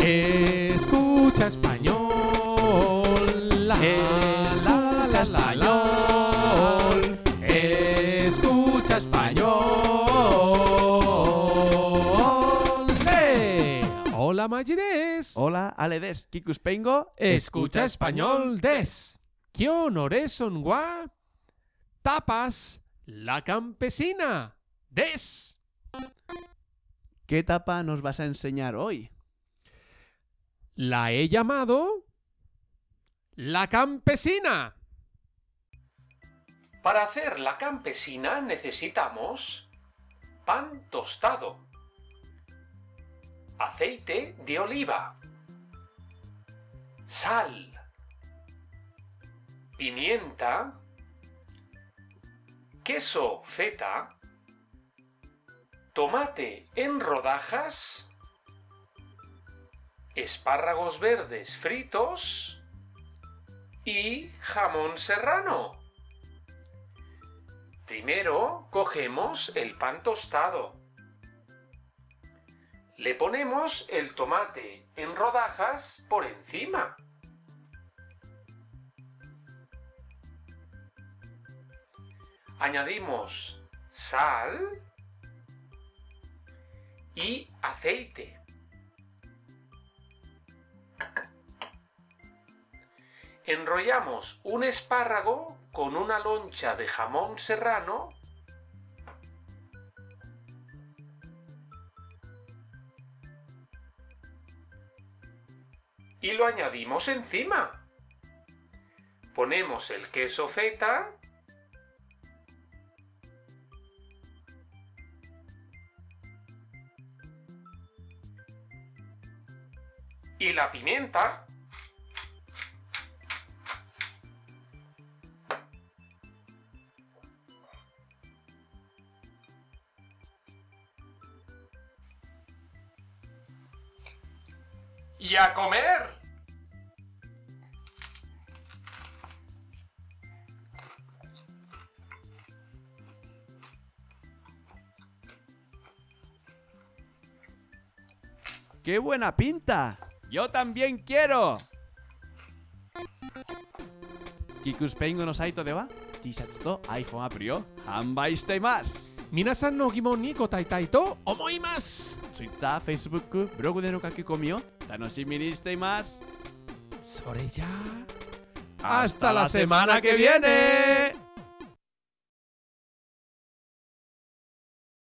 Escucha español. Escucha español. Escucha español. Hola Magides. Hola, Aledes, Kikuspengo. Escucha español des. ¿Qué honores son gua? Tapas la campesina des. ¿Qué tapa nos vas a enseñar hoy? La he llamado la campesina. Para hacer la campesina necesitamos pan tostado, aceite de oliva, sal, pimienta, queso feta, tomate en rodajas, espárragos verdes fritos y jamón serrano. Primero cogemos el pan tostado. Le ponemos el tomate en rodajas por encima. Añadimos sal y aceite. Enrollamos un espárrago con una loncha de jamón serrano y lo añadimos encima. Ponemos el queso feta y la pimienta. ¡Y a comer! ¡Qué buena pinta! ¡Yo también quiero! Kikuspengo no saito de wa T-shirtsと iPhone アプリを販売しています。 皆さんの疑問に答えたいと思います。 Twitter、Facebook、ブログでの書き込みを楽しみにしています。 それじゃあ、 ¡Hasta la semana que viene!